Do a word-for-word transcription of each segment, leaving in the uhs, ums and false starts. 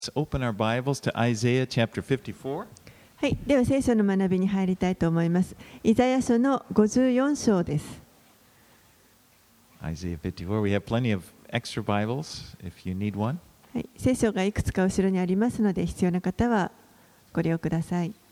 Let's open our Bibles to Isaiah chapter fifty-four. はい、では聖書の学びに入りたいと思います。イザヤ書のごじゅうよん章です。 Isaiah fifty-four. We have plenty of extra Bibles if you need one. はい、聖書がいくつか後ろにありますので、必要な方はご利用ください。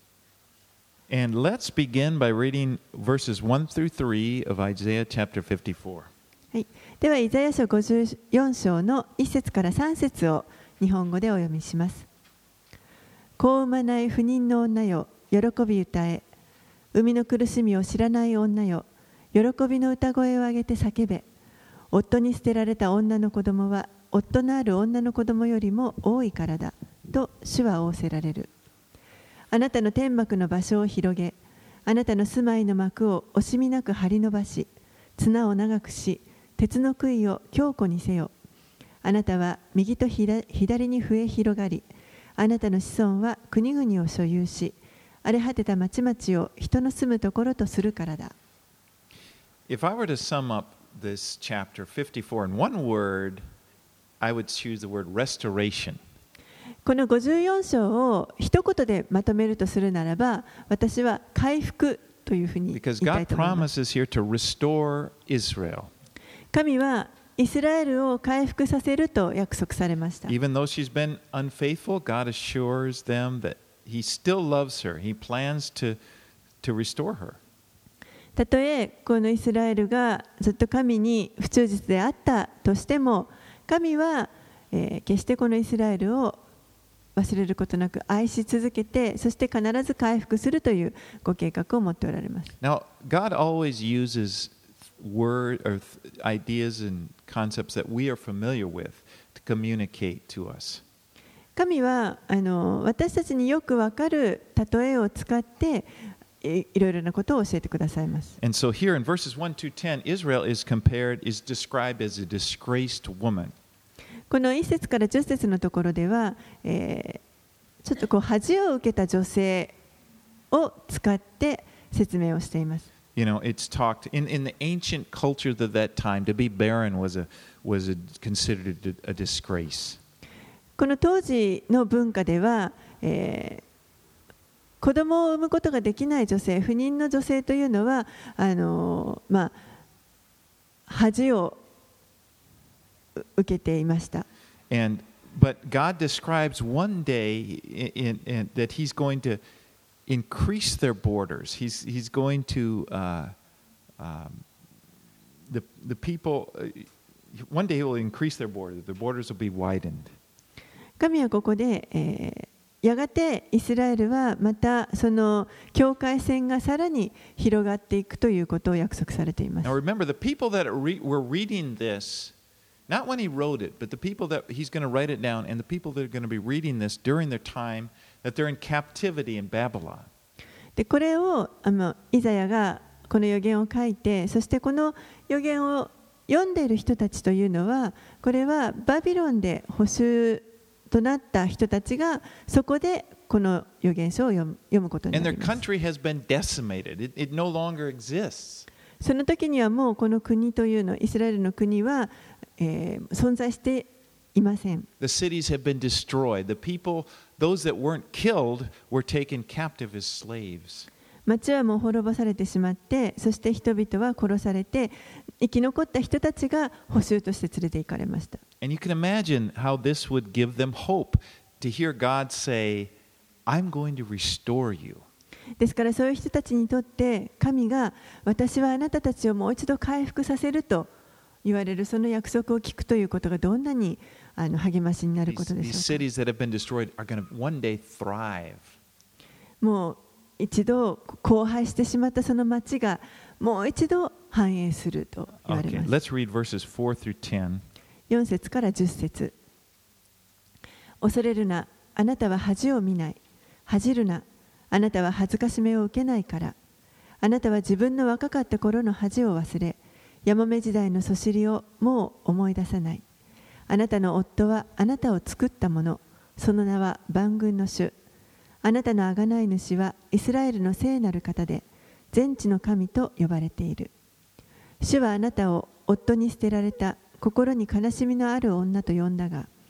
And let's begin by reading verses one through three of Isaiah chapter fifty-four. はい、ではイザヤ書ごじゅうよん章のいち節からさん節を日本語でお読みします。子を産まない不妊の女よ、喜び歌え。産みの苦しみを知らない女よ、喜びの歌声を上げて叫べ。夫に捨てられた女の子供は、夫のある女の子供よりも多いからだ、と主は仰せられる。あなたの天幕の場所を広げ、あなたの住まいの幕を惜しみなく張り伸ばし、綱を長くし、鉄の杭を強固にせよ。あなたは右と左に増え広がり、あなたの子孫は国々を所有し、荒れ果てた町々を人の住むところとするからだ。 If I were to sum up this chapter fifty-four in one word, I would choose the word restoration. このごじゅうよん章を一言でまとめるとするならば、私は回復というふうに言いたい Because God と思います。 promises here to restore Israel. 神はイスラエルを回復させると約束されました。 Even though she's been unfaithful, God assures them that He still loves her. He plans to, to restore her. たとえこのイスラエルがずっと神に不忠実であったとしても、神は、えー、決してこのイスラエルを忘れることなく愛し続けて、そして必ず回復するというご計画を持っておられます。 Now, God always uses word or ideas and concepts that we are familiar with to communicate to us. 神はあの私たちによくわかる例えを使ってい、いろいろなことを教えてくださいます。 And so here in verses one to ten, Israel is compared, is described as a disgraced woman. このいち節からじゅっ節のところでは、えー、ちょっとこう恥を受けた女性を使って説明をしています。 You know, it's talked in, in the ancient culture of that time, to be barren was a was a, considered a, a disgrace. この当時の文化では、えー、子供を産むことができない女性、不妊の女性というのは、あのー、まあ恥を受けていました。 And but God describes one day in, in, in, that He's going to increase their borders. He's He's going to uh, um, the the people. Uh, one day He will increase their borders. The borders will be widened. 神はここで、えー、やがてイスラエルはまたその境界線がさらに広がっていくということを約束されています。 Now remember, the people that are re- were reading this, not when He wrote it, but the people that He's going to write it down, and the people that are going to be reading this during their time that they're in captivity in Babylon. でこれをあのイザヤがこの預言を書いて、そしてこの預言を読んでいる人たちというのは、これはバビロンで捕囚となった人たちがそこでこの預言書を読む、読むことにな And り their ます。 country has been decimated. It, it no longer exists. その時にはもうこの国というの、イスラエルの国は、えー、存在していません。 The cities have been destroyed. The people, those that weren't killed, were taken captive as slaves. 町はもう滅ぼされてしまって、そして人々は殺されて、生き残った人たちが捕囚として連れて行かれました。 And you can imagine how this would give them hope to hear God say, I'm going to restore you. ですからそういう人たちにとって神が私はあなたたちをもう一度回復させると言われるその約束を聞くということがどんなにあの励ましになることで These, しょ these う cities か。 that have been destroyed are going to one day thrive. もう一度荒廃してしまったその町がもう一度繁栄すると言われ Okay, ます。 let's read verses four through ten. よん節からじゅっ節。恐れるな、あなたは恥を見ない。恥じるな、あなたは恥ずかしめを受けないから。あなたは自分の若かった頃の恥を忘れ、やもめ時代のそしりをもう思い出さない。あなたの夫はあなたを作ったもの、その名は万軍の主。あなたの贖い主はイスラエルの聖なる方で、全地の神と呼ばれている。主はあなたを夫に捨てられた心に悲しみのある女と呼んだが、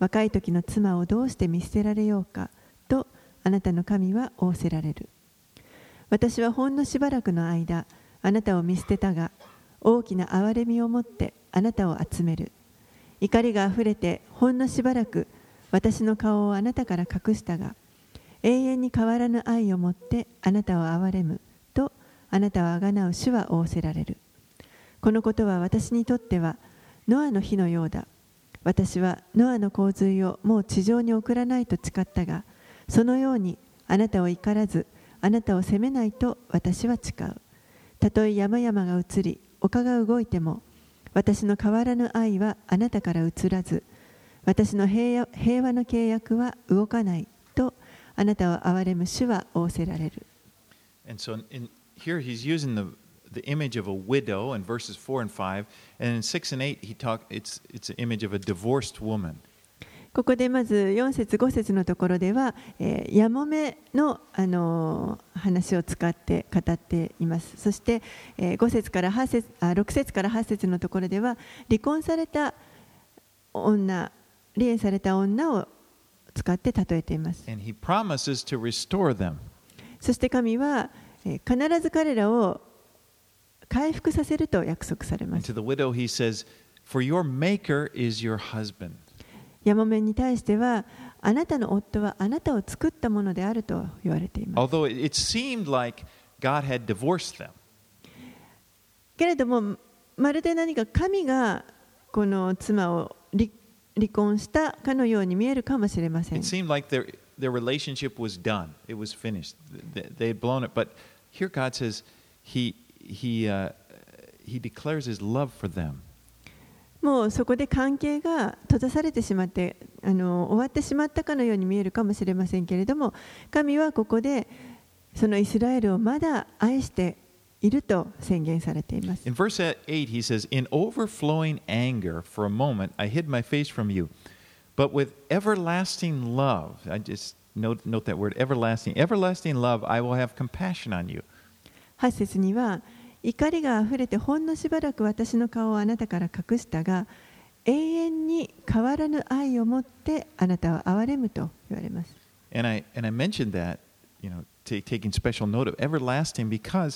若い時の妻をどうして見捨てられようかとあなたの神は仰せられる。私はほんのしばらくの間あなたを見捨てたが、大きな憐れみをもってあなたを集める。怒りがあふれてほんのしばらく私の顔をあなたから隠したが、永遠に変わらぬ愛をもってあなたを憐れむとあなたをあがなう主は仰せられる。このことは私にとってはノアの日のようだ。私はノアの洪水をもう地上に送らないと誓ったが、そのようにあなたを怒らずあなたを責めないと私は誓う。たとえ山々が移り丘が動いても、私の変わらぬ愛はあなたから移らず、私の平和、平和の契約は動かないとあなたを憐れむ主は仰せられる。 And so in, here he's using the, the image of a widow in verses four and five, and in six and eight he talk, it's, it's an image of a divorced woman. ここでまずよん節ご節のところでは、えー、やもめの、あのー、話を使って語っています。そして、えー、ご節からはち節あろく節からはち節のところでは離婚された女、離縁された女を使って例えています。 And he promises to restore them. そして神は、えー、必ず彼らを回復させると約束されま And す。 to the widow he says, "For your maker is your husband." やもめに対しては、あなたの夫はあなたを作ったものであると言われています。 Although it seemed like God had divorced them. けれども、まるで何か神がこの妻を 離, 離婚したかのように見えるかもしれません。 It seemed like their, their relationship was done. It was finished. They, they had blown it. But here God says he, he, uh, he declares his love for them. もうそこで関係が閉ざされてしまってあの終わってしまったかのように見えるかもしれませんけれども、神はここでそのイスラエルをまだ愛していると宣言されています。 In verse eight he says, "In overflowing anger for a moment I hid my face from you, but with everlasting love," I just note, note that word, everlasting, everlasting love, I will have compassion on you. はち節には、怒りがあふれてほんのしばらく私の顔をあなたから隠したが、永遠に変わらぬ愛をもってあなたを憐れむと言われます。 And I, and I mentioned that, you know, t- taking special note of everlasting because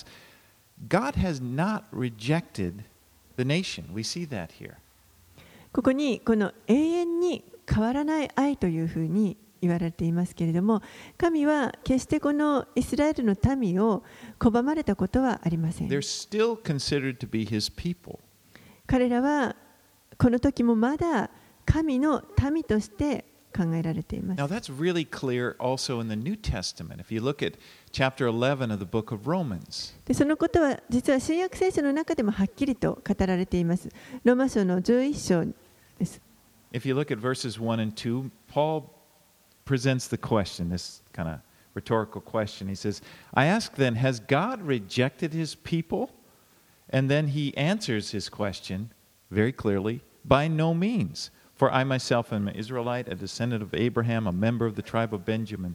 God has not rejected the nation. We see that here. ここにこの永遠に変わらない愛というふうに言われていますけれども、神は決してこのイスラエルの民を拒まれたことはありません。 They're still considered to be his people. 彼らはこの時もまだ神の民として考えられています。 Now that's really clear also in the New Testament. If you look at chapter eleven of the book of Romans. でそのことは実は新約聖書の中でもはっきりと語られています。ローマ書のじゅういっ章です。 If you look at verses one and two, Paul presents the question, this kind of rhetorical question. He says, "I ask then, has God rejected his people?" And then he answers his question very clearly, "By no means. For I myself am an Israelite, a descendant of Abraham, a member of the tribe of Benjamin."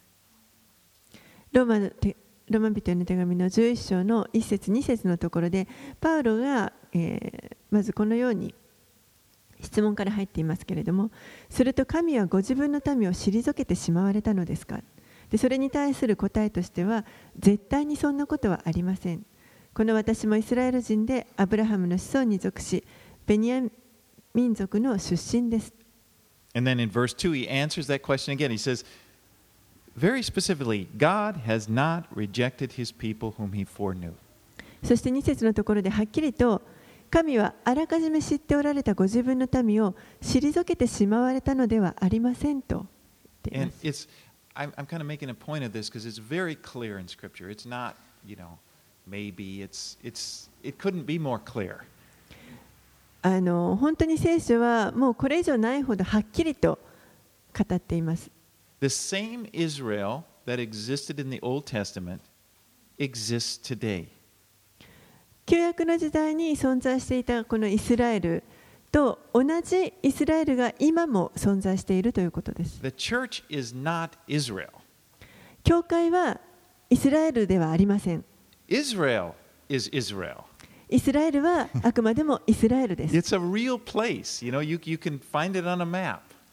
ローマの手ローマ人への手紙のじゅういっ章のいち節に節のところで、パウロが、えー、まずこのように質問から入っていますけれども、すると神はご自分の民を退けてしまわれたのですか。でそれに対する答えとしては、絶対にそんなことはありません。この私もイスラエル人でアブラハムの子孫に属し、ベニヤ民族の出身です。 And then in verse two, he answers that question again. He says, very specifically, God has not rejected his people whom he foreknew. そしてに節のところではっきりと、神はあらかじめ知っておられたご自分の民を退けてしまわれたのではありませんと言ってい And ます。 it's, I'm, I'm kind of making a point of this because it's very clear in Scripture. It's not, you know, maybe. It's, it's, it couldn't be more clear. あの本当に聖書はもうこれ以上ないほどはっきりと語っています。 The same Israel that existed in the Old Testament exists today. 旧約の時代に存在していたこのイスラエルと同じイスラエルが今も存在しているということです。 The church is not Israel. 教会はイスラエルではありません。 Israel is Israel. イスラエルはあくまでもイスラエルです。 It's a real place. You know, you, you can find it on a map.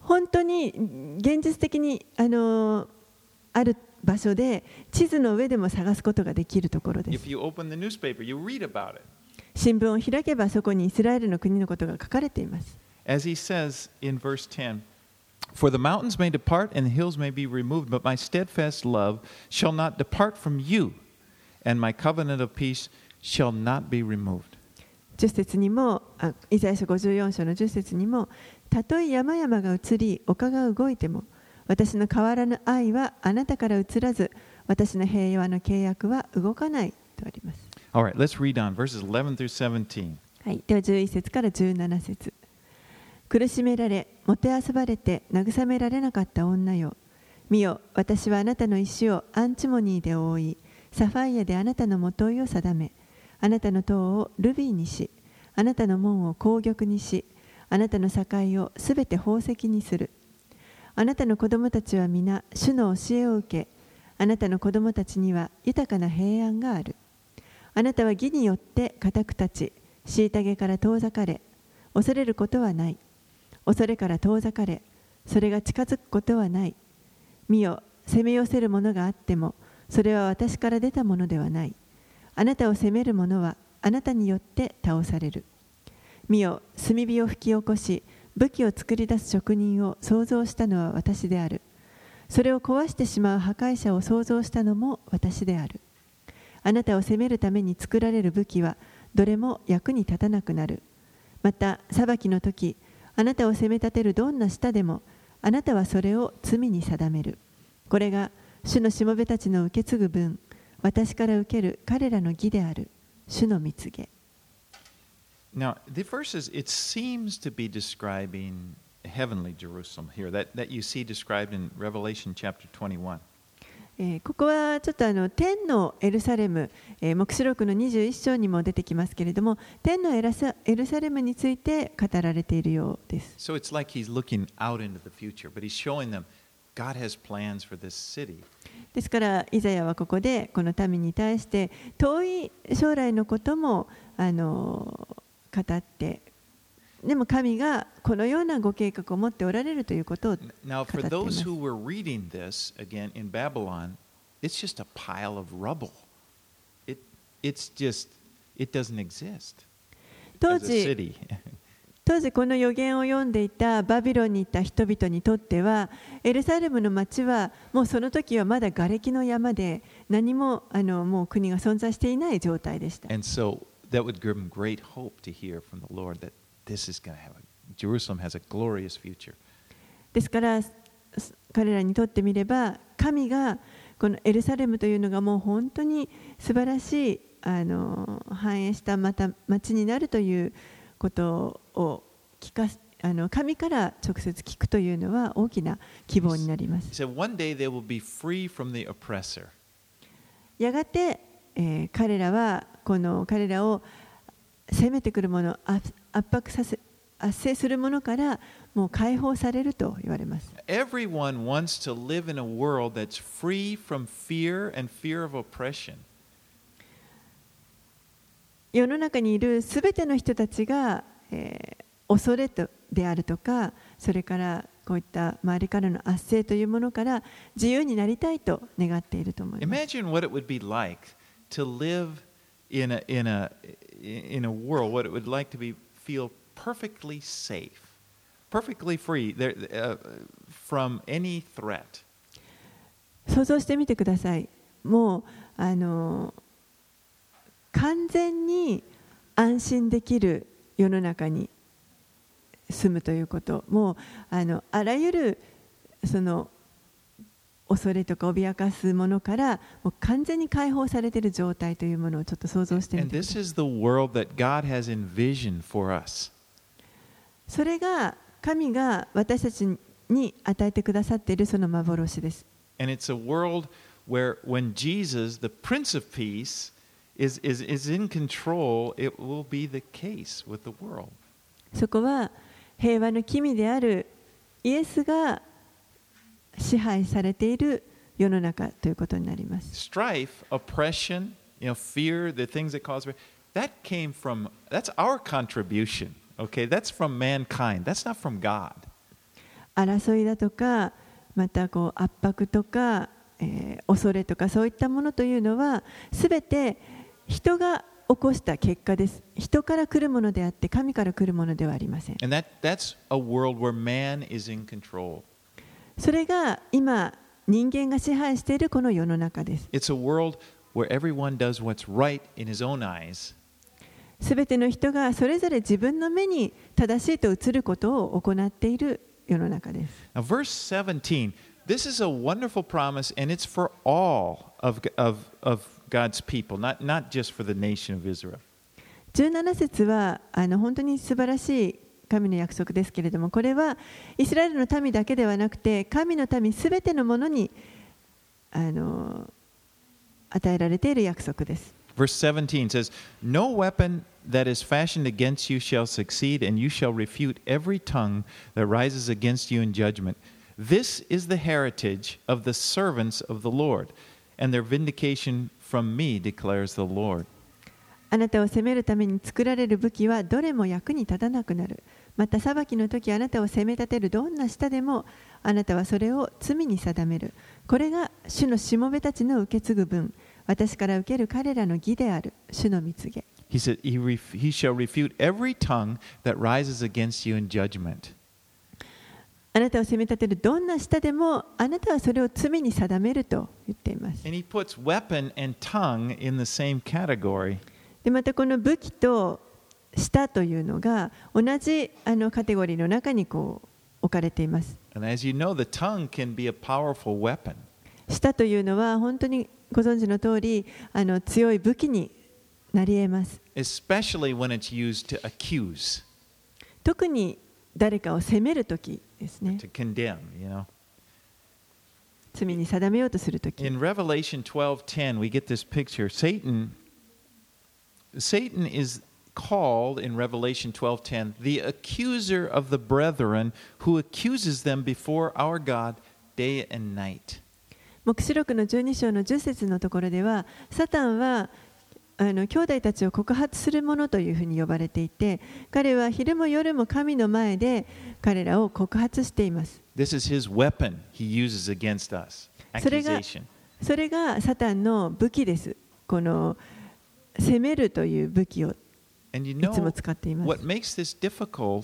本当に現実的にあのある場所で地図の上でも探すことができるところです。 If you open the newspaper, you read about it. 新聞を開けばそこにイスラエルの国のことが書かれています。 As he says in verse ten, For the mountains may depart and the hills may be removed, but my steadfast love shall not depart from you, and my covenant of peace shall not be removed. じゅっ節にも、あイザヤ書ごじゅうよん章のじゅっ節にも、たとえ山々が移り、丘が動いても、私の変わらぬ愛はあなたから移らず、私の平和の契約は動かないとあります。 All right, let's read on verses eleven through seventeen. はい、ではじゅういち節からじゅうなな節。苦しめられ、もてあそばれて慰められなかった女よ。見よ、私はあなたの石をアンチモニーで覆い、サファイアであなたのもといを定め、あなたの塔をルビーにし、あなたの門を紅玉にし、あなたの境をすべて宝石にする。あなたの子供たちは皆、主の教えを受け、あなたの子供たちには豊かな平安がある。あなたは義によって固く立ち、虐げから遠ざかれ、恐れることはない。恐れから遠ざかれ、それが近づくことはない。見よ、攻め寄せるものがあっても、それは私から出たものではない。あなたを責める者はあなたによって倒される。見よ、炭火を吹き起こし、武器を作り出す職人を創造したのは私である。それを壊してしまう破壊者を創造したのも私である。あなたを責めるために作られる武器はどれも役に立たなくなる。また裁きの時、あなたを責め立てるどんな舌でもあなたはそれを罪に定める。これが主のしもべたちの受け継ぐ分、私から受ける彼らの義である。主の御告げ。 Now, the verses, it seems to be describing heavenly Jerusalem here, that, that you see described in Revelation chapter twenty-one. えーここはちょっとあの天のエルサレム、えー黙示録のにじゅういっ章にも出てきますけれども、天のエラサエルサレムについて語られているようです。 So it's like he's looking out into the future, but he's showing them God has plans for this city. ですからイザヤはここでこの民に対して遠い将来のこともあの語って、でも神がこのようなご計画を持っておられるということを語ってい Now, ま for す。 those who were reading this again in Babylon, it's just a pile of rubble. It, it's just, it doesn't exist 当 as a 時 city. 当時この預言を読んでいたバビロンにいた人々にとっては、エルサレムの町はもうその時はまだ瓦礫の山で、何もあのもう国が存在していない状態でした。 And so that would give them great hope to hear from the Lord that this is going to have a, Jerusalem has a glorious future. ですから彼らにとってみれば、神がこのエルサレムというのがもう本当に素晴らしいあの繁栄したまた町になるということを聞かすあの神から直接聞くというのは大きな希望になりま He す。 said, one day they will be free from the oppressor. やがて、えー彼らはこの彼らを攻めてくるもの、圧圧迫させ圧制するものからもう解放されると言われます。 Everyone wants to live in a world that's free from fear and fear of oppression. 世の中にいるすべての人たちが、えー恐れとであるとか、それからこういった周りからの圧政というものから自由になりたいと願っていると思います。 Imagine what it would be like to live in a, in a, in a world, what it would like to be, feel perfectly safe, perfectly free there, uh, from any threat. 想像してみてください。もうあの完全に安心できる世の中に住むということ、もうあのあらゆるその恐れとか脅かすものからもう完全に解放されている状態というものをちょっと想像してみ And てくだ this さい。 is the world that God has envisioned for us. それが神が私たちに与えてくださっているその幻です。 And it's a world where when Jesus, the Prince of Peace, is, is, is in control, it will be the case with the world. そこは平和の君であるイエスが支配されている世の中ということになります。 Strife, oppression, you know, fear, the things that cause fear, that came from, that's our contribution, okay? That's from mankind. That's not from God. 争いだとか、またこう圧迫とか、えー、恐れとかそういったものというのはすべて人が起こした結果です。人から来るものであって神から来るものではありません。 And that, that's a world where man is in control. それが今人間が支配しているこの世の中です。 It's a world where everyone does what's right in his own eyes. すべての人がそれぞれ自分の目に正しいと映ることを行っている世の中です。 Now, verse seventeen, this is a wonderful promise, and it's for all of, of, of God's people, not, not just for the nation of Israel. じゅうなな節はあの本当に素晴らしい神の約束ですけれども、これはイスラエルの民だけではなくて神の民すべてのものにあの与えられている約束です。 Verse seventeen says, No weapon that is fashioned against you shall succeed, and you shall refute every tongue that rises against you in judgment. This is the heritage of the servants of the Lord, and their vindication from me, declares the Lord. あなたを責めるために作られる武器はどれも役に立たなくなる。また裁きの時あなたを責め立てるどんな舌でもあなたはそれを罪に定める。これが主のしもべたちの受け継ぐ分、私から受ける彼らの義である主の御告げ。 He said, he, ref- he shall refute every tongue that rises against you in judgment. あなたを責め立てるどんな舌でもあなたはそれを罪に定めると言っています。 And he puts weapon and tongue in the same category. でまたこの武器と舌というのが同じあのカテゴリーの中にこう置かれています。 And as you know, the tongue can be a powerful weapon. 舌というのは本当にご存知の通りあの強い武器になり得ます。 Especially when it's used to accuse, 特に誰かを責めるときですね。 to condemn, you know. 罪に定めようとするとき。 In Revelation twelve ten, we get this picture. Satan, Satan is called in Revelation twelve ten the accuser of the brethren who accuses them before our God day and night. 黙示録のじゅうに章のじゅっ節のところでは、サタンはあの兄弟たちを告発する者というふうに呼ばれていて、彼は昼も夜も神の前で彼らを告発しています。 This is his weapon he uses against us. それが、 Accusation. それがサタンの武器です。この責めるという武器を And you いつも know 使っています。 what makes this difficult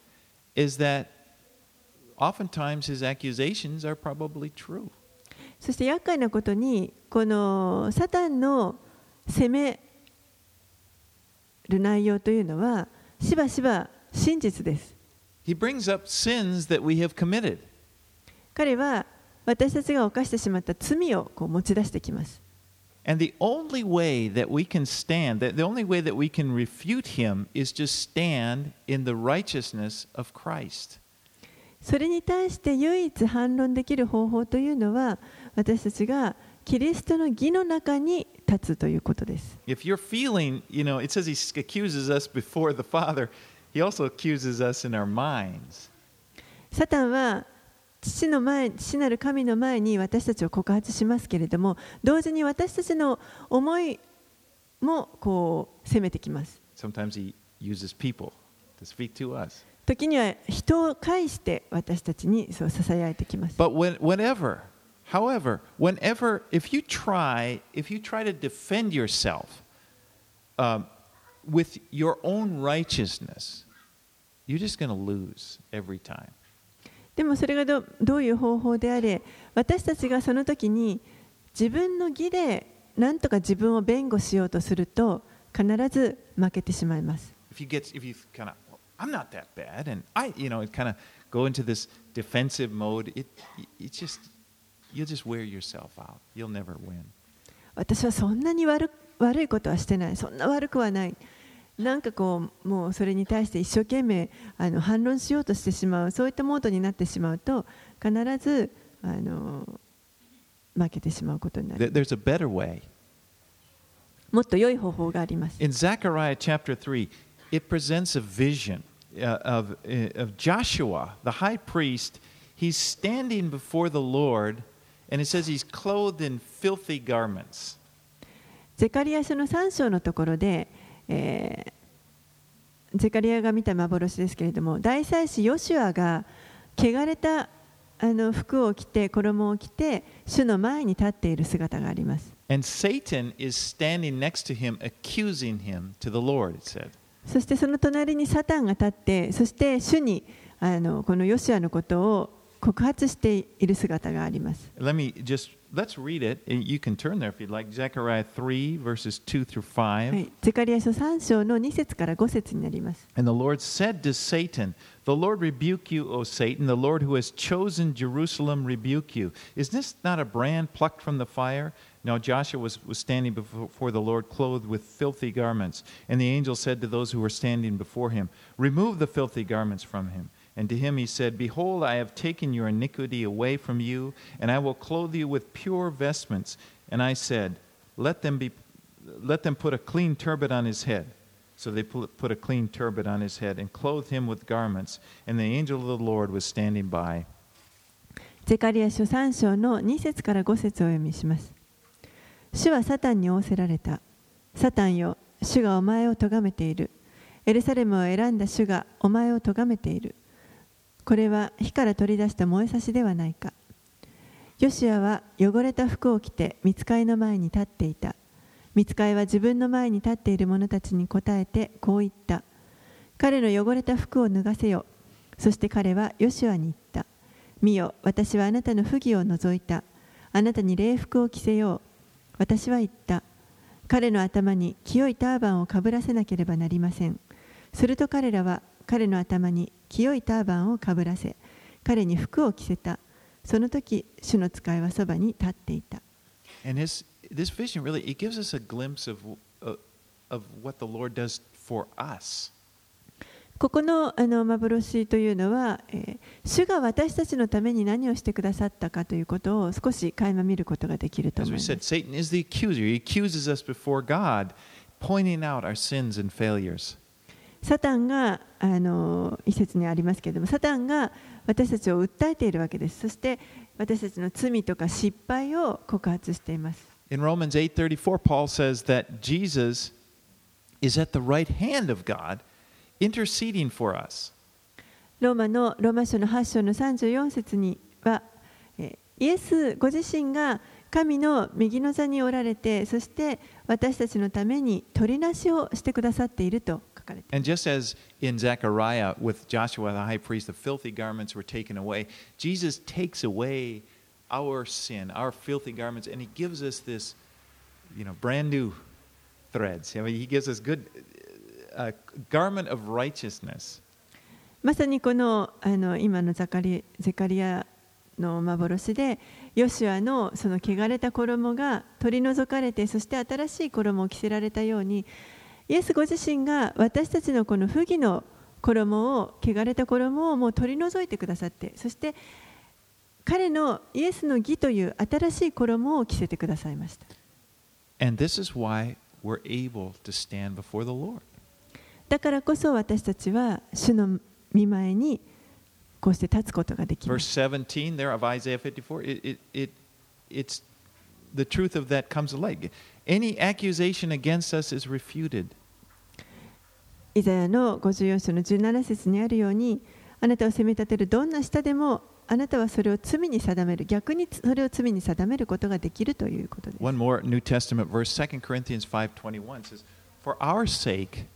is that oftentimes his accusations are probably true. そして厄介なことに、このサタンの責める内容というのはしばしば真実です。 He brings up sins that we have committed. 彼は私たちが犯してしまった罪をこう持ち出してきます。 And the only way that we can stand, that the only way that we can refute him is to stand in the righteousness of Christ. それに対して唯一反論できる方法というのは、私たちがキリストの義の中に立つということです。 If you're feeling, you know, it says he accuses us before the Father, he also accuses us in our minds. サタンは父の前、父なる神の前に私たちを告発しますけれども、同時に私たちの思いもこう責めてきます。 Sometimes he uses people to speak to us. 時には人を介して私たちにそう囁いてきます。 But when, whenever, however, whenever, if you try, if you try to defend yourself um, with your own righteousness, you're just going to lose every time. でもそれが ど, どういう方法であれ、私たちがその時に自分の義で何とか自分を弁護しようとすると必ず負けてしまいます。 If you get, if you kind of, well, I'm not that bad, and I, you know, kind of go into this defensive mode, it, it just, you'll just wear yourself out. You'll never win. 私はそんなに 悪, 悪いことはしてない、そんな悪くはない。なんかこうもうそれに対して一生懸命あの反論しようとしてしまう、そういったモードになってしまうと必ずあの負けてしまうことになる。 There's a better way. もっと良い方法があります。 In Zechariah chapter three, it presents a vision uh, of, uh, of Joshua, the high priest. He's standing before the Lord, and it says he's clothed in filthy garments. ゼカリア書のさん章のところで、えー、ゼカリアが見た幻ですけれども、大祭司ヨシュアが汚れたあの服を着て衣を着て主の前に立っている姿があります。 And Satan is standing next to him, accusing him to the Lord, it said. そしてその隣にサタンが立って、そして主にあのこのヨシュアのことを告発している姿があります。 Let me just, let's read it. You can turn there if you'd like. Zechariah three, verses two through five. はい、ゼカリヤ書さん章のに節からご節になります。 And the Lord said to Satan, The Lord rebuke you, O Satan, the Lord who has chosen Jerusalem rebuke you. Is this not a brand plucked from the fire? Now Joshua was, was standing before the Lord clothed with filthy garments. And the angel said to those who were standing before him, Remove the filthy garments from him. And to him he said, Behold, I have taken your iniquity away from you, and I will clothe you with pure vestments. And I said, Let them be, let them put a clean turban on his head. So they put a clean turban on his head and clothed him with garments. And the angel of the Lord was standing by. ゼカリヤ書さん章のに節からご節をお読みします。主はサタンに仰せられた。サタンよ、主がお前を咎めている。エルサレムを選んだ主がお前を咎めている。これは火から取り出した燃えさしではないか。ヨシュアは汚れた服を着て御使いの前に立っていた。御使いは自分の前に立っている者たちに答えてこう言った。彼の汚れた服を脱がせよ。そして彼はヨシュアに言った。見よ、私はあなたの不義を除いた。あなたに礼服を着せよう。私は言った。彼の頭に清いターバンをかぶらせなければなりません。すると彼らは彼の頭に清いターバンをかぶらせ、彼に服を着せた。その時、主の使いはそばに立っていた。 And this, this vision really, it gives us a glimpse of, uh, of what the Lord does for us. ここのあの幻というのは、えー、主が私たちのために何をしてくださったかということを少し垣間見ることができると思います。 As we said, Satan is the accuser. He accuses us before God, pointing out our sins and failures. サタンがあの一節にありますけれども、サタンが私たちを訴えているわけです。そして私たちの罪とか失敗を告発しています。 In Romans eight thirty-four, Paul says that Jesus is at the right hand of God, interceding for us. ローマのローマ書のはち章のさんじゅうよん節には、イエスご自身が神の右の座におられて、そして私たちのために取りなしをしてくださっていると。 And just as in Zechariah with Joshua the high priest, the filthy garments were taken away, Jesus takes away our sin, our filthy garments, and he gives us this, you know, brand new threads. I mean, he gives us good a garment of righteousness. まさにこのあの今のザカリゼカリヤの幻で、ヨシュアのその汚れた衣が取り除かれて、そして新しい衣を着せられたように、イエスご自身が私たちのこの不義の衣を、汚れた衣をもう取り除いてくださって、そして彼のイエスの義という新しい衣を着せてくださいました。 And this is why we're able to stand before the Lord. だからこそ私たちは主の御前にこうして立つことができます。 Verse seventeen there of Isaiah fifty-four, it, it, it, it's the truth of that comes to light. Any accusation against us is refuted. イザヤのごじゅうよん章のじゅうなな節にあるように、あなたを責め立てるどんな舌でもあなたはそれを罪に定める、逆にそれを罪に定めることができるということです。 One more New Testament verse, Second Corinthians five twenty-one says, For our sake,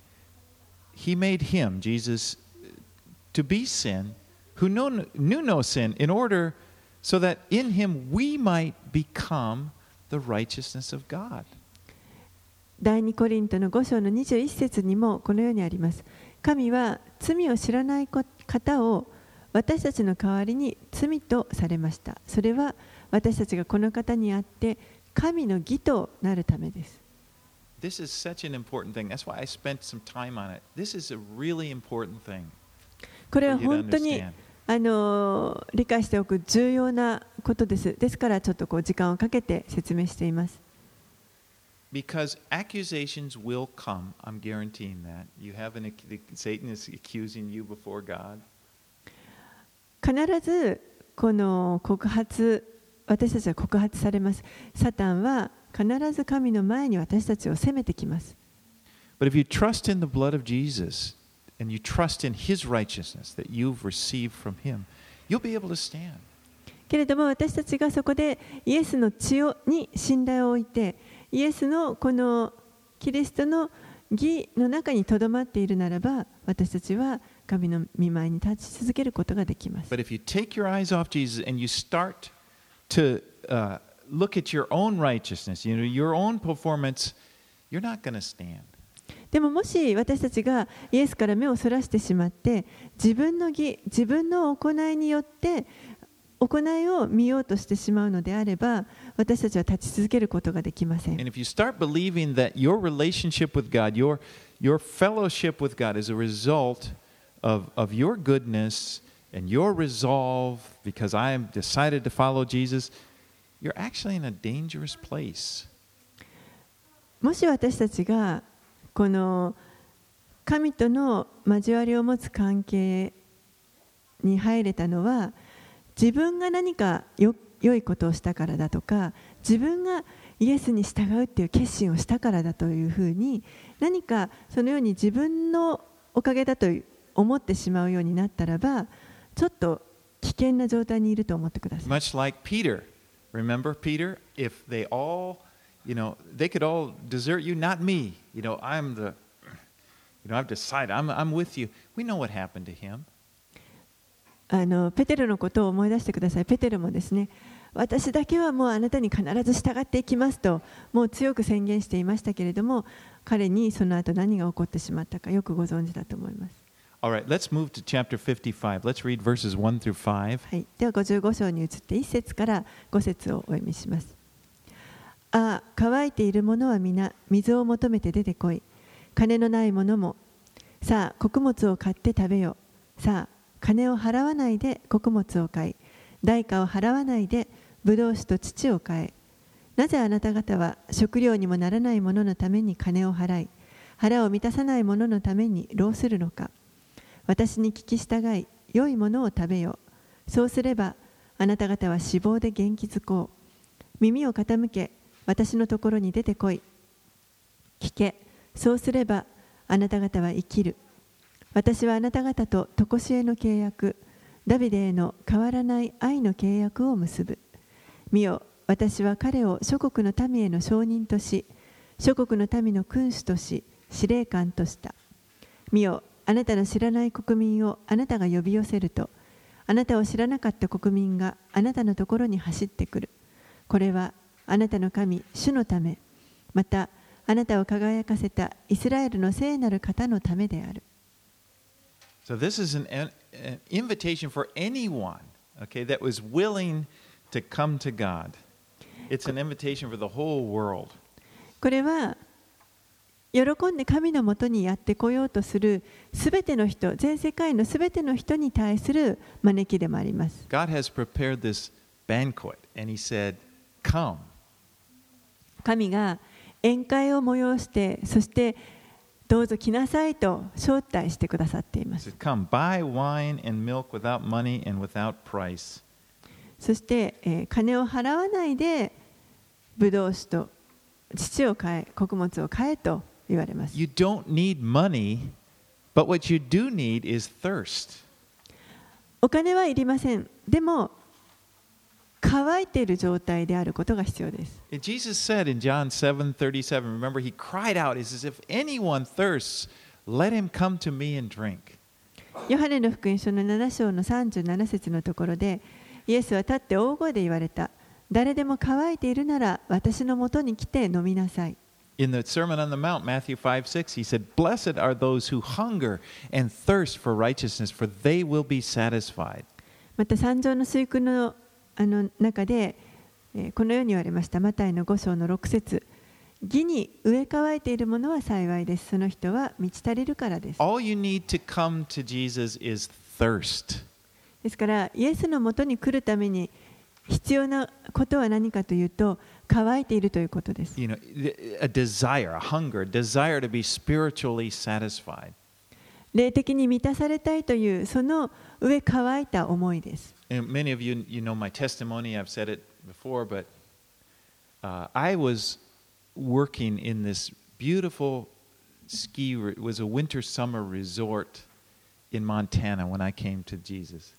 he made him, Jesus, to be sin, who knew, knew no sin, in order so that in him we might become the righteousness of God. 第二コリントのご章のにじゅういち節にもこのようにあります。神は罪を知らない方を私たちの代わりに罪とされました。それは私たちがこの方にあって神の義となるためです。 This is such an important thing. That's why I spent some time on it. This is a really important thing. これは本当にあの理解しておく重要なことです。ですからちょっとこう時間をかけて説明しています。 Because accusations will come, I'm guaranteeing that. You have an, Satan is accusing you before God. 必ずこの告発、私たちは告発されます。サタンは必ず神の前に私たちを責めてきます。 But if you trust in the blood of Jesus and you trust in his righteousness that you've received from him, you'll be able to stand. けれども私たちがそこでイエスの血をに信頼を置いて、イエスのこのキリストの義の中にとどまっているならば、私たちは神の御前に立ち続けることができます。 But if you take your eyes off Jesus and you start to uh, look at your own righteousness, you know, your own performance, you're not going to stand. でももし私たちがイエスから目をそらしてしまって、自分の義、自分の行いによって行いを見ようとしてしまうのであれば、私たちは立ち続けることができません。 And if you start believing that your relationship with God, your, your fellowship with God is a result of, of your goodness and your resolve, because I am decided to follow Jesus, you're actually in a dangerous place. もし私たちがこの神との交わりを持つ関係に入れたのは、自分が何かよ良いことをしたからだとか、自分がイエスに従うっていう決心をしたからだというふうに、何かそのように自分のおかげだと思ってしまうようになったらば、ちょっと危険な状態にいると思ってください。 Much like Peter. Remember Peter? If they all, you know, they could all desert you, not me. You know, I'm the, you know, I've decided, I'm, I'm with you. We know what happened to him. あのペテロのことを思い出してください。ペテロもですね、私だけはもうあなたに必ず従っていきますと、もう強く宣言していましたけれども、彼にその後何が起こってしまったかよくご存知だと思います。 All right, let's move to chapter fifty-five. Let's read verses one through five. はい、ではごじゅうご章に移っていっ節からご節をお読みします。ああ、乾いている者は皆水を求めて出てこい。金のない者も、さあ穀物を買って食べよ。さあ金を払わないで穀物を買い、代価を払わないでブドウ酒と乳を買え。なぜあなた方は食料にもならない者のために金を払い、腹を満たさない者のために労するのか。私に聞き従い、良いものを食べよ。そうすればあなた方は脂肪で元気づこう。耳を傾け、私のところに出てこい。聞け、そうすればあなた方は生きる。私はあなた方と常しえの契約、ダビデへの変わらない愛の契約を結ぶ。見よ、私は彼を諸国の民への証人とし、諸国の民の君主とし、司令官とした。見よ、あなたの知らない国民をあなたが呼び寄せると、あなたを知らなかった国民があなたのところに走ってくる。これはあなたの神、主のため、またあなたを輝かせたイスラエルの聖なる方のためである。 So this is an, an invitation for anyone, okay, that was willing to come to God. It's an invitation for the whole world. これは喜んで神のもとにやってこようとするすべての人、全世界のすべての人に対する招きでもあります。 God has prepared this banquet and he said, "Come." 神が宴会を催して、そしてどうぞ来なさいと招待してくださっていま He す。 said, "Come, buy wine and milk without money and without price." そして、えー金を払わないでブドウ酒と乳を買え、穀物を買えと言われます。 You don't need money, but what you do need is thirst. お金はいりません。でも乾いている状態であることが必要です。 Jesus said in John seven thirty-seven, remember, he cried out, he says, "If anyone thirsts, let him come to me and drink." ヨハネの福音書のなな章のさんじゅうなな節のところで、イエスは立って大声で言われた。誰でも乾いているなら私のもとに来て飲みなさい。 In the Sermon on the Mount, Matthew five six, he said, "Blessed are those who hunger and thirst for righteousness, for they will be satisfied." また三条の水訓のあの中で、えーこのように言われました。マタイのご章のろく節、義に植え乾いているものは幸いです。その人は満ち足りるからです。 All you need to come to Jesus is thirst. ですからイエスのもとに来るために必要なことは何かというと、乾いているということです。 You know, a desire, a hunger, a desire to be spiritually satisfied. 霊的に満たされたいというその植え乾いた思いです。 And many of you, you know my testimony. I've said it before, but uh, I was working in this beautiful ski. It was a winter summer resort in Montana when I came to Jesus.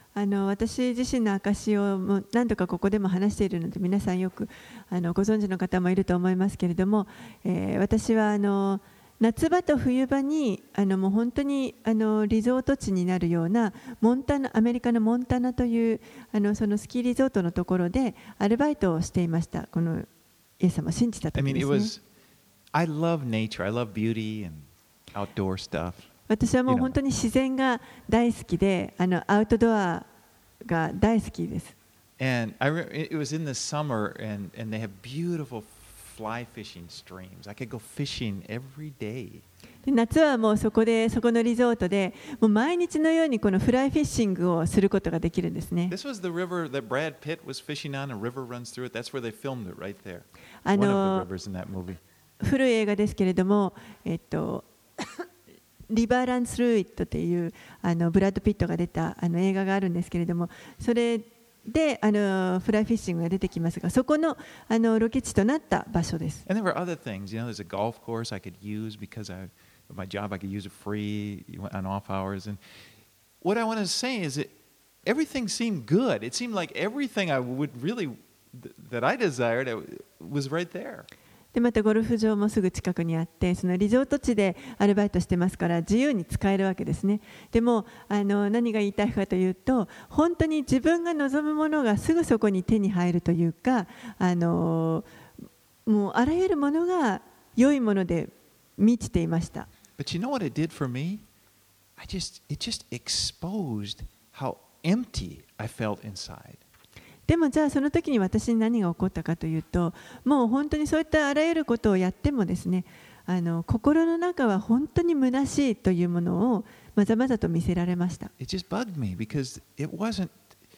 あの私自身の証をもう何度かここでも話しているので皆さんよくあのご存知の方もいると思いますけれども、えー、私はあの夏場と冬場にあのもう本当にあのリゾート地になるようなモンタナ、アメリカのモンタナというあのそのスキーリゾートのところでアルバイトをしていました。このイエス様を信じた時 I で mean, す it ね。 was, I love nature. I love beauty and outdoor stuff. 私はもう本当に自然が大好きで、あのアウトドアが大好きです。 And I remember it was in the summer, and, and they have beautiful fly fishing streams. I could go fishing every day. で夏はもうそこで、そこのリゾートで、もう毎日のようにこのフライフィッシングをすることができるんですね。 This was the river that Brad Pitt was fishing on. A river runs through it. That's where they filmed it, right there. あ One の of the rivers in that movie. 古い映画ですけれども、えっとリバーランスルーイットというあのブラッド・ピットが出たあの映画があるんですけれども、それであのフライフィッシングが出てきますが、そこのあのロケ地となった場所です。 And there were other things. You know, there's a golf course I could use because I, of my job, I could use it free on off hours. And what I want to say is that everything seemed good. It seemed like everything I would really, that I desired was right there. でまたゴルフ場もすぐ近くにあって、そのリゾート地でアルバイトしてますから自由に使えるわけですね。でもあの何が言いたいかというと、本当に自分が望むものがすぐそこに手に入るというか、あのもうあらゆるものが良いもので満ちていました。 But you know what it did for me? I just, it just exposed how empty I felt inside. でもじゃあその時に私に何が起こったかというと、もう本当にそういったあらゆることをやってもですね、あの心の中は本当に虚しいというものをまざまざと見せられました。 It just bugged me because it wasn't,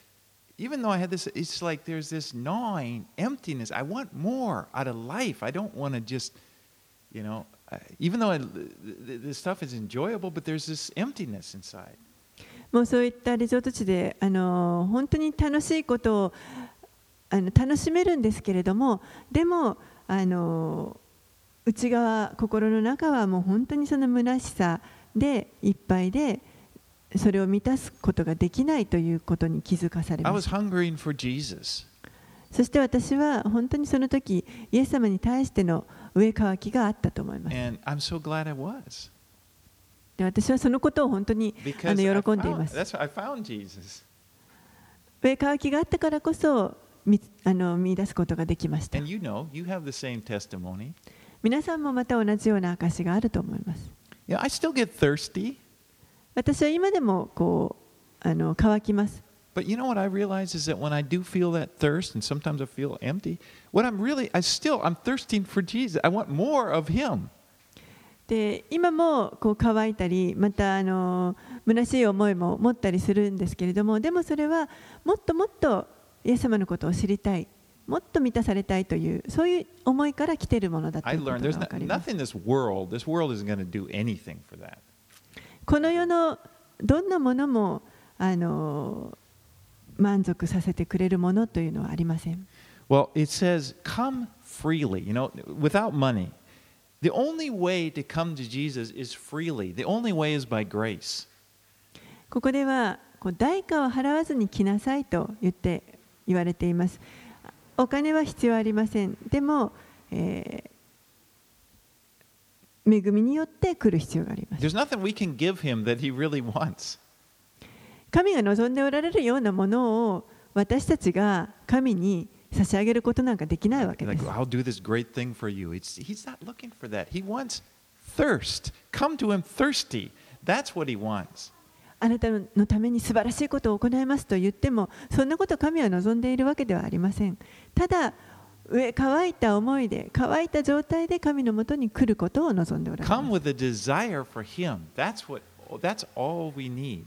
even though I had this, it's like there's this gnawing emptiness. I want more out of life. I don't want to just, you know, even though I, this stuff is enjoyable, but there's this emptiness inside. もうそういったリゾート地であの本当に楽しいことをあの楽しめるんですけれども、でもあの内側、心の中はもう本当にその虚しさでいっぱいで、それを満たすことができないということに気づかされました。そして私は本当にその時イエス様に対しての上渇きがあったと思います。 And I'm so glad I was. で私はそのことを本当にあの喜んでいます。上渇きがあったからこそ見あの見出すことができました。 And you know, you have the same testimony. 皆さんもまた同じような証があると思います。 Yeah, I still get thirsty. 私は今でもこうあの渇きます。 But you know what I realize is that when I do feel that thirst, and sometimes I feel empty, what I'm really, I still, I'm thirsting for Jesus. I want more of Him. で今もこう乾いたり、またあの虚しい思いも持ったりするんですけれども、でもそれはもっともっとイエス様のことを知りたい、もっと満たされたいというそういう思いから来ているものだということが分かります。この世のどんなものもあの満足させてくれるものというのはありません。 Well, it says, come freely, you know, without money.The only way to come to Jesus is freely. The only way is by grace. ここではこう代価を払わずに来なさいと言って言われています。お金は必要ありません。でも、えー、恵みによって来る必要があります。 There's nothing we can give him that he really wants. 神が望んでおられるようなものを私たちが神に差し上げることなんかできないわけです。 Like, I'll do this great thing for you. It's, he's not looking for that. He wants thirst. Come to him thirsty. That's what he wants. あなたのために素晴らしいことを行いますと言っても、そんなことを神は望んでいるわけではありません。ただ、上乾いた思いで、乾いた状態で神のもとに来ることを望んでおられます。 Come with a desire for him. That's what, that's all we need.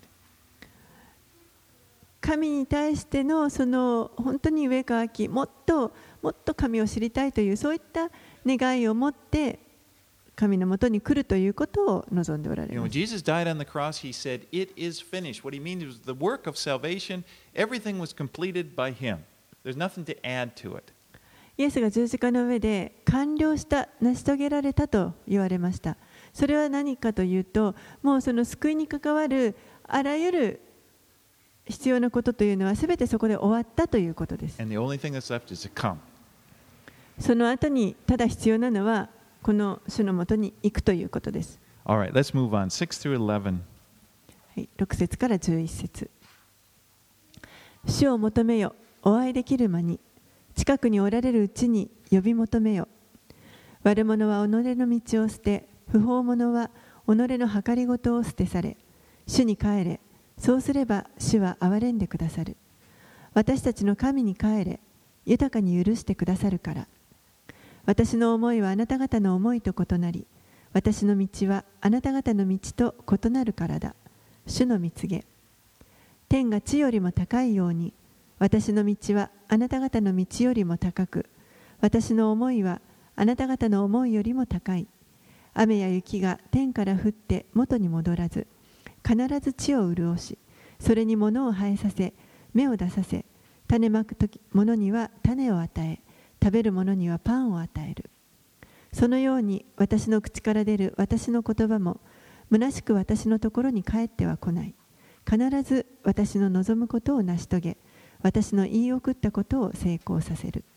神に対してのその本当に上乾き、もっともっと神を知りたいというそういった願いを持って神のもとに来るということを望んでおられます。 Jesus died on the cross. He said, "It is finished." What he means is the work of salvation. Everything was completed by Him. There's nothing to add to it. イエスが十字架の上で完了した、成し遂げられたと言われました。それは何かというと、もうその救いに関わるあらゆる必要なことというのはすべてそこで終わったということです。 And the only thing that's left is to come. その後にただ必要なのはこの主のもとに行くということです。 All right, let's move on. six through eleven. はい、ろく節からじゅういち節。主を求めよ、お会いできる間に、近くにおられるうちに呼び求めよ。悪者は己の道を捨て、不法者は己の計りごとを捨てされ、主に帰れ、そうすれば主は憐れんでくださる。私たちの神に帰れ、豊かに許してくださるから。私の思いはあなた方の思いと異なり、私の道はあなた方の道と異なるからだ。主の蜜げ。天が地よりも高いように、私の道はあなた方の道よりも高く、私の思いはあなた方の思いよりも高い。雨や雪が天から降って元に戻らず、必ず地を潤し、それに物を生えさせ、芽を出させ、種まく者には種を与え、食べる者にはパンを与える。そのように私の口から出る私の言葉も、虚しく私のところに帰っては来ない。必ず私の望むことを成し遂げ、私の言い送ったことを成功させる。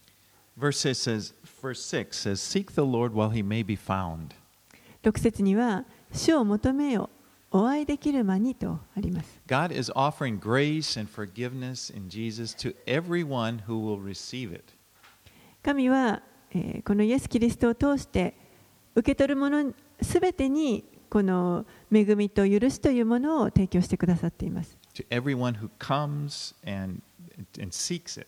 Verse six says, verse six says, Seek the Lord while he may be found. ろく節には、主を求めよ、お会いできる間にとあります。 God is offering grace and forgiveness in Jesus to everyone who will receive it. 神は、えー、このイエス・キリストを通して受け取るものすべてにこの恵みと許しというものを提供してくださっています。 To everyone who comes and, and seeks it.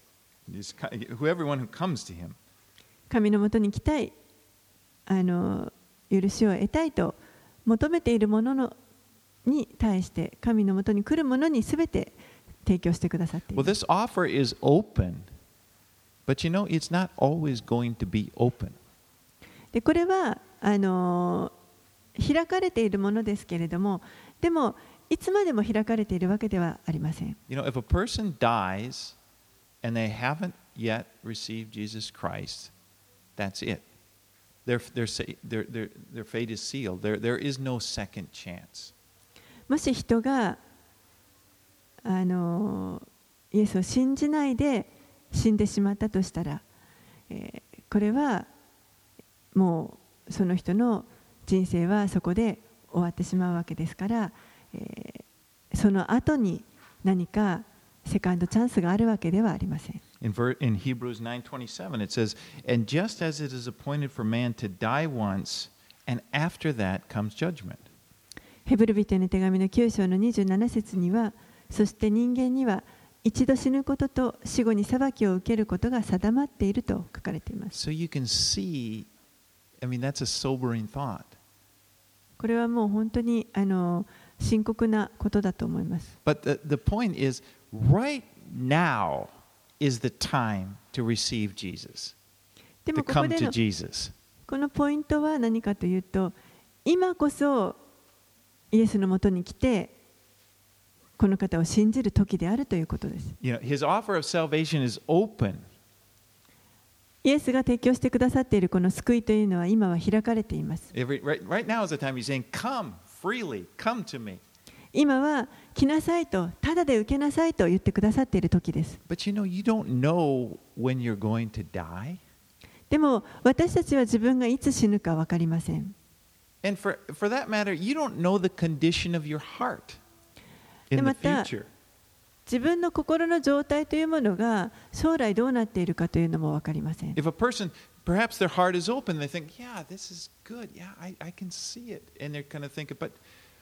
Everyone who comes to him. 神のもとに来たい、あの許しを得たいと求めているもののに対して神のもとに来るものにすべて提供してくださっています。 Well, this offer is open, but you know, it's not always going to be open. でこれはあの開かれているものですけれども、でもいつまでも開かれているわけではありません。 You know, if a person dies and they haven't yet received Jesus Christ, that's it. Their, their, their, their, their fate is sealed. There, there is no second chance. もし人があのイエスを信じないで死んでしまったとしたら、えー、これはもうその人の人生はそこで終わってしまうわけですから、えー、その後に何かセカンドチャンスがあるわけではありません。 In, ver, in Hebrews nine twenty-seven, it says, And just as it is appointed for man to die once, and after that comes judgment. ヘブル人への手紙のきゅう章のにじゅうなな節には、そして人間には一度死ぬことと死後に裁きを受けることが定まっていると書かれています。 So you can see, I mean, that's a sobering thought. これはもう本当にあの深刻なことだと思います。 But the, the point is, right now is the time to receive Jesus, で to もここ come で to の Jesus. このポイントは何かというと、今こそイエスのもとに来てこの方を信じる時であるということです。 You know, his offer of salvation is open. イエスが提供してくださっているこの救いというのは今は開かれています。 Every, right, right now is the time he's saying, Come freely, come to me. 今は来なさいと、ただで受けなさいと言ってくださっている時です。 But you know, you don't know when you're going to die. でも私たちは自分がいつ死ぬか分かりません。 And for, for that matter, you don't know the condition of your heart in the でまた future. 自分の心の状態というものが将来どうなっているかというのも分かりません。 If a person, perhaps their heart is open, they think, yeah, this is good. Yeah, I, I can see it. And they're kind of thinking, but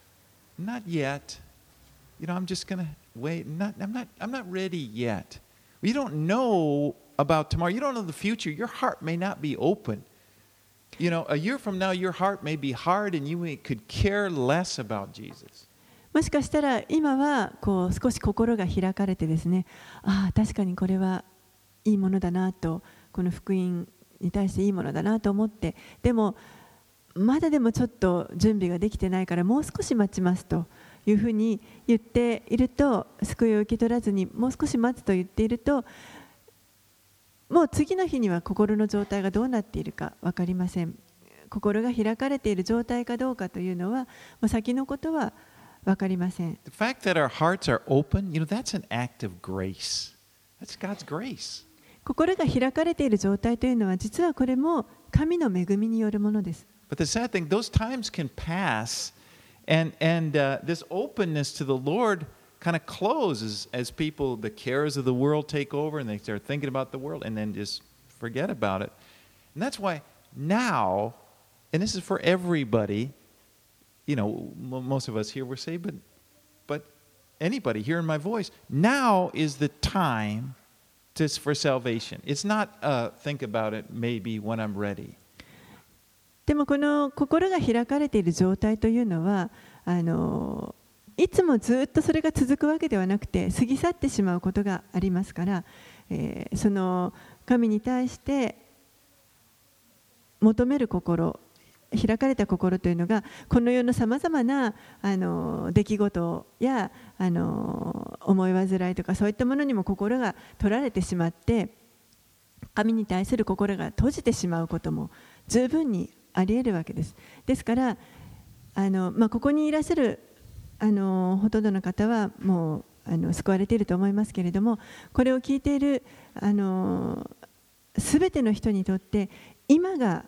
not yet. You know, I'm just going to wait. Not, I'm not, I'm not ready yet. You don't know about tomorrow. You don't know the future. Your heart may not be open. You know, a year from now, your heart may be hard and you may, could care less about Jesus. もしかしたら今はこう少し心が開かれてですね、ああ確かにこれはいいものだなと、この福音に対していいものだなと思って、でもまだでもちょっと準備ができてないからもう少し待ちますというふうに言っていると、救いを受け取らずにもう少し待つと言っていると、もう次の日には心の状態がどうなっているか分かりません。心が開かれている状態かどうかというのはもう先のことは分かりません。 The fact that our hearts are open, you know, that's an act of grace. That's God's grace. 心が開かれている状態というのは実はこれも神の恵みによるものです。 But the sad thing, those times can pass, and, and uh, this openness to the Lord kind of closes as people, the cares of the world take over and they start thinking about the world and then just forget about it. And that's why now, and this is for everybody, you know, most of us here were saved, but, but anybody hearing my voice, now is the time to, for salvation. It's not uh, think about it maybe when I'm ready. でもこの心が開かれている状態というのはあのいつもずっとそれが続くわけではなくて過ぎ去ってしまうことがありますから、えー、その神に対して求める心、開かれた心というのがこの世のさまざまなあの出来事やあの思い煩いとかそういったものにも心が取られてしまって神に対する心が閉じてしまうことも十分にあり得るわけです。ですからあの、まあ、ここにいらっしゃるあのほとんどの方はもうあの救われていると思いますけれども、これを聞いているあの全ての人にとって今が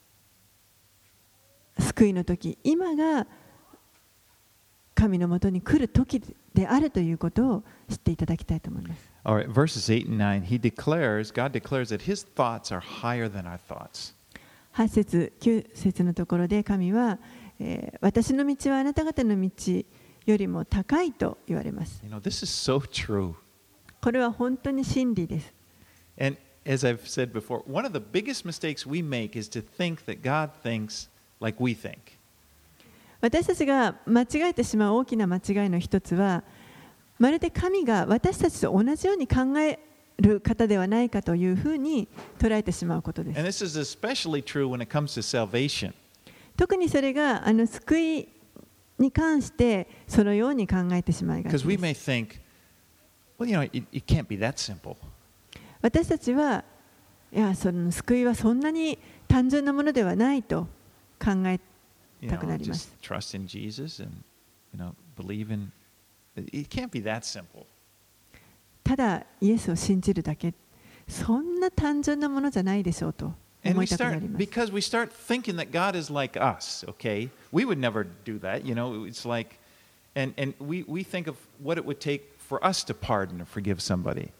救いの時、今が神のもとに来る時であるということを知っていただきたいと思います。 All right, verses eight and nine, he declares, God declares that his thoughts are higher than our thoughts. はち節、きゅう節のところで神は、えー、私の道はあなた方の道よりも高いと言われます。 You know, this is so true. これは本当に真理です。 And as I've said before, one of the biggest mistakes we make is to think that God thinks like we think. 私たちが間違えてしまう大きな間違いの一つは、まるで神が私たちと同じように考える方ではないかというふうに捉えてしまうことです。 And this is especially true when it comes to salvation. 特にそれがあの救いに関してそのように考えてしまいがち Because we で may す。 think, well, you know, it, it can't be that simple. 私たちはいやその救いはそんなに単純なものではないと考え You たく know, なりま just す。 trust in Jesus and, you know, believe in. It can't be that simple. ただイエスを信じるだけ、そんな単純なものじゃないでしょうと And 思 we いたくな start ります。 because we start thinking that God is like us, okay? We would never do that, you know. It's like, and and we we think of what it would take for us to pardon or forgive somebody.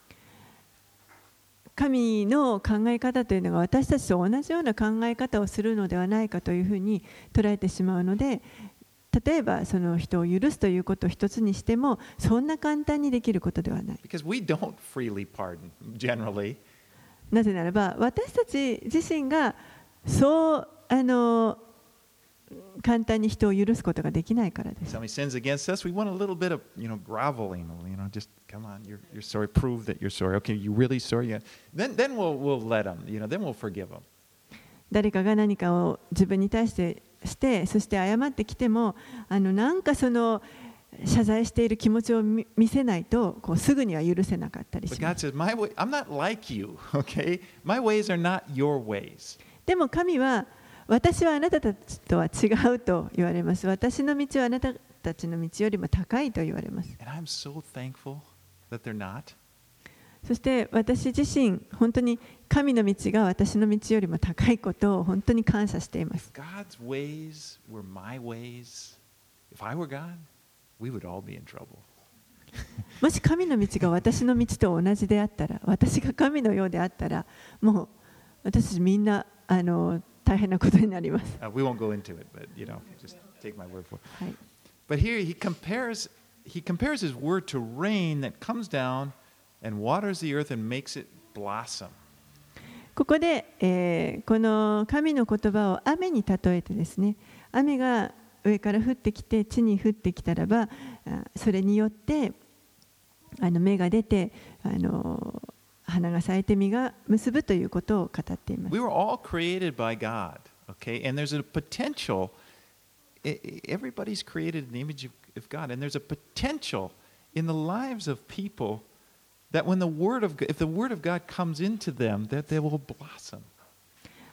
神の考え方というのが私たちと同じような考え方をするのではないかというふうに捉えてしまうので、例えばその人を許すということを一つにしてもそんな簡単にできることではない。 Because we don't freely pardon generally. なぜならば私たち自身がそうあの簡単に人を許すことができないからです。 Somebody sins against us, we want a little bit of, you know, groveling, you know, just come on, you're you're sorry, prove that you're sorry. Okay, you really sorry? Yeah. Then then we'll we'll let them, you know, then we'll forgive them. 誰かが何かを自分に対してして、そして謝ってきても、あのなんかその謝罪している気持ちを見せないと、こうすぐには許せなかったり But しま God す。 says, my way, I'm not like you, okay? My ways are not your ways. でも神は私はあなたたちとは違うと言われます。私の道はあなたたちの道よりも高いと言われます。 And I'm so thankful that they're not. そして私自身、本当に神の道が私の道よりも高いことを本当に感謝しています。 If God's ways were my ways, if I were God, we would all be in trouble. もし神の道が私の道と同じであったら、私が神のようであったら、もう私たちみんなあの大変なことになります。 Uh, we won't go into it, but you know, just take my word for it. はい。 But here he compares he compares his word to rain that comes down and waters the earth and makes it blossom. ここで、えーこの神の言葉を雨に例えてですね、雨が上から降ってきて地に降ってきたらば、あそれによってあの芽が出てあの花が咲いて実が結ぶということを語っています。 We were all created by God, okay? And there's a potential. e- e- Everybody's created in the image of, of God, and there's a potential in the lives of people that when the word of G- if the word of God comes into them, that they will blossom.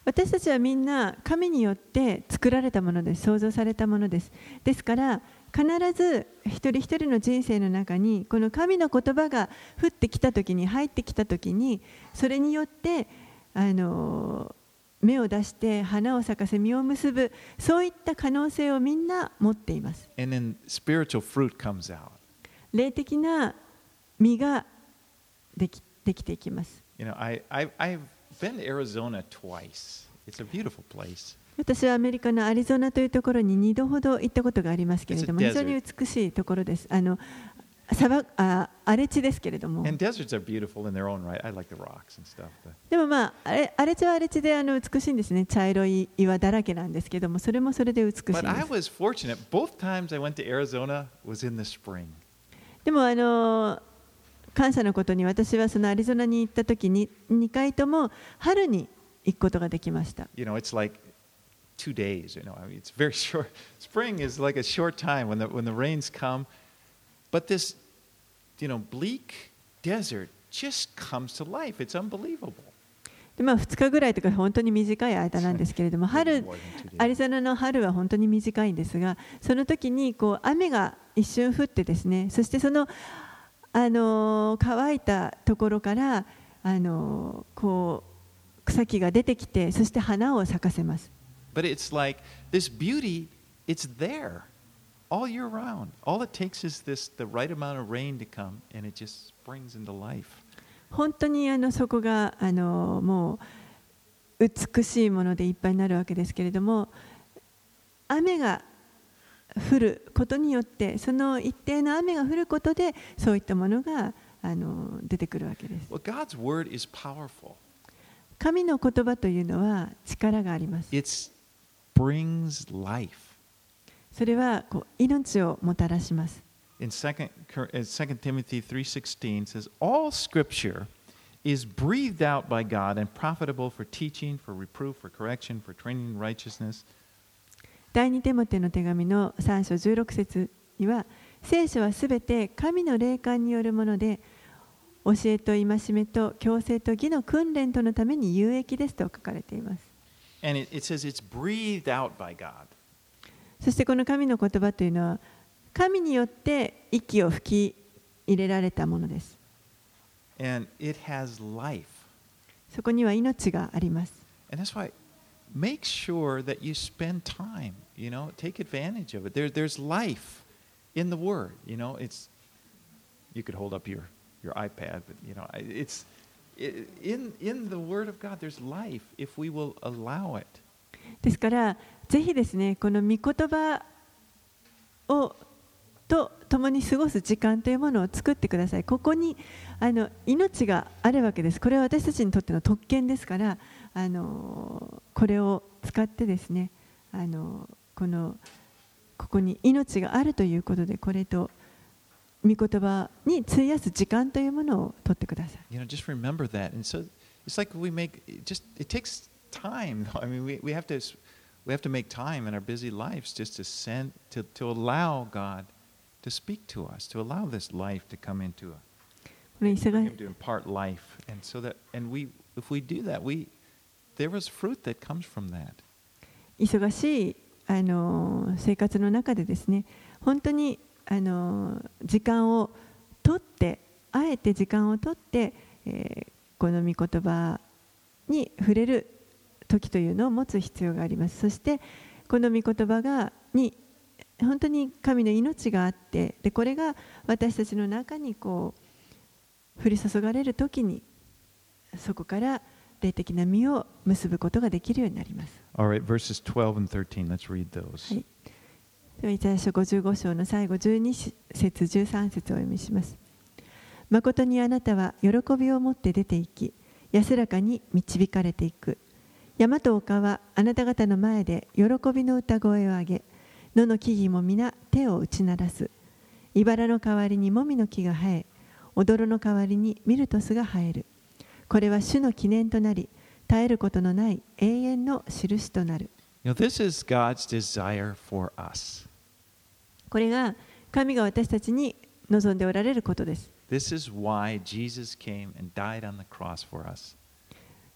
私たちはみんな神によって作られたものです。創造されたものです。ですから必ず一人一人の人生の中にこの神の言葉が降ってきたときに、入ってきたときに、それによってあの芽を出して花を咲かせ実を結ぶ、そういった可能性をみんな持っています。 And then spiritual fruit comes out. 霊的な実ができ、できていきます。 You know, I, I, I've been to Arizona twice. It's a beautiful place. 私はアメリカのアリゾナというところににどほど行ったことがありますけれども、非常に美しいところです。あの砂漠、あ、荒れ地ですけれども。 And deserts are beautiful in their own right. I like the rocks and stuff. でもまあ、あれ荒れ地は荒れ地であの美しいんですね。茶色い岩だらけなんですけども、それもそれで美しいんです。 But I was fortunate. Both times I went to Arizona was in the spring. でもあの感謝のことに、私はそのアリゾナに行った時ににかいとも春に行くことができました。 You know, it's like two days. You know, I mean, it's very short. Spring is like a short time when the when the rains come. But this, you know, bleak desert just comes to life. It's unbelievable. でまあ、ふつかぐらいとか本当に短い間なんですけれども、春、アリゾナの春は本当に短いんですが、その時にこう雨が一瞬降ってですね、そしてその、あの乾いたところからあのこう草木が出てきて、そして花を咲かせます。 But it's like this beauty, it's there all year round. All it takes is this the right amount of rain to come, and it just springs into life. 本当にあのそこがあのもう美しいものでいっぱいになるわけですけれども、雨が降ることによって、その一定の雨が降ることで、そういったものがあの出てくるわけです。 Well, God's word is powerful. 神の言葉というのは力があります。 It brings life. それはこう命をもたらします。 In Second Timothy three sixteen says, all scripture is breathed out by God and profitable for teaching, for reproof, for correction, for training in righteousness. 第二テモテの手紙のさん章じゅうろく節には、聖書はすべて神の霊感によるもので、教えと戒めと矯正と義の訓練とのために有益ですと書かれています。 And it, it says it's breathed out by God. そしてこの神の言葉というのは、神によって息を吹き入れられたものです。 And it has life. そこには命があります。 And that's why make sure that you spend time, you know, take advantage of it. There, there's life in the Word, you know. It's, you could hold up your, your iPad, but, you know, it's, in, in the Word of God, there's life if we will allow it. ですから、ぜひですね、この御言葉をと共に過ごす時間というものを作ってください。ここにあの命があるわけです。これは私たちにとっての特権ですから、あのこれを使ってですね、あのこのここに命があるということで、これと御言葉に費やす時間というものを取ってください。 You know, just remember that. And so it's like we make just it takes time. I mean, we we have to we have to make time in our busy lives just to send to to allow God to speak to us, to allow this life to come into us, to impart life, and so that, and we, if we do that, we, there is fruit that comes from that. 忙しいあの生活の中でですね、本当にあの時間を取って、あえて時間を取って、えー、この御言葉に触れる時というのを持つ必要があります。そしてこの御言葉がに本当に神の命があって、でこれが私たちの中にこう降り注がれるときに、そこから霊的な実を結ぶことができるようになります。 All right, verses twelve and thirteen. Let's read those. はい。ではイザヤ書ごじゅうご章の最後じゅうに節じゅうさん節をお読みします。誠にあなたは喜びを持って出て行き、安らかに導かれていく。山と丘はあなた方の前で喜びの歌声を上げ、野の木々も皆手を打ち鳴らす。茨の代わりにもみの木が生え、踊の代わりにミルトスが生える。これは主の記念となり、絶えることのない永遠の印となる。 You know, this is God's desire for us. これが神が私たちに望んでおられることです。 This is why Jesus came and died on the cross for us.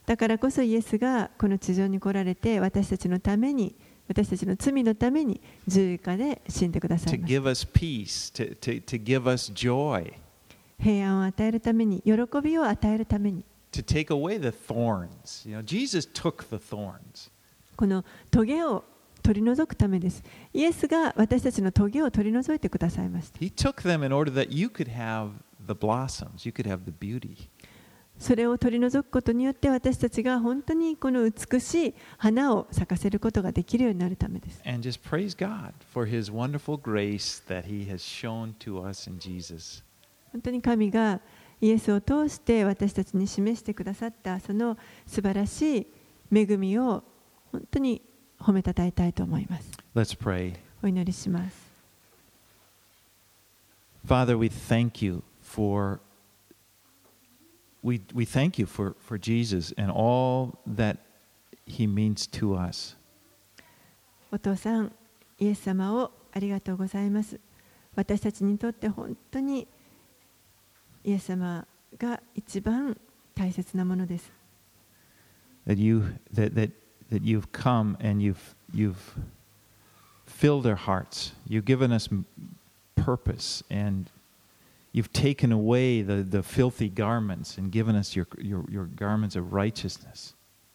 だからこそイエスがこの地上に来られて、私たちのために、私たちの罪のために十字架で死んでください to ました。 give us peace, to, to, to give us joy, 平安を与えるために、喜びを与えるために、 to take away the thorns. You know, Jesus took the thorns. この棘を取り除くためです。イエスが私たちの棘を取り除いてくださいました。 He took them in order that you could have the blossoms, you could have the beauty. それを取り除くことによって私たちが本当にこの美しい花を咲かせることができるようになるためです。 And just praise God for His wonderful grace that He has shown to us in Jesus. 本当に神がイエスを通して私たちに示してくださったその素晴らしい恵みを本当に褒めたたえたいと思います。 Let's pray. お祈りします。 Father, we thank you for we, we thank you for, for Jesus and all that He means to us. お父さん、イエス様をありがとうございます。私たちにとって本当にイエス様が一番大切なものです。 That you that, that, that you've come and you've you've filled our hearts. You've given us purpose and you've taken away the, the filthy garments and given us your, your, your garments of righteousness.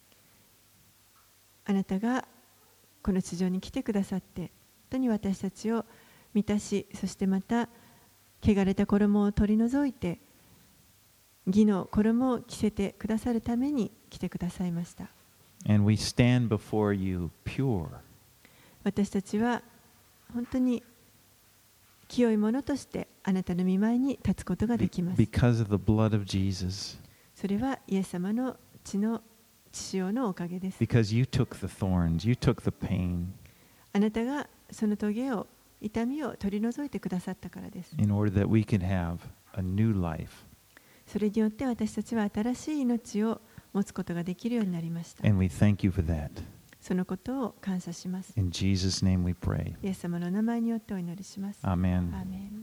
あなたがこの地上に来てくださって、本当に私たちを満たし、そしてまた汚れた衣を取り除いて、義の衣を着せてくださるために来てくださいました。 And we stand before you pure. 私たちは本当に清いものとしてあなたの御前に立つことができます。 Because of the blood of Jesus. それはイエス様の血の血潮のおかげです。 Because you took the thorns, you took the pain あなたがその棘を、痛みを取り除いてくださったからです。 in order that we can have a new life. それによって私たちは新しい命を持つことができるようになりました。 And we thank you for that. そのことを感謝します。 In Jesus' name we pray. イエス様の名前によってお祈りします。 Amen. アーメン。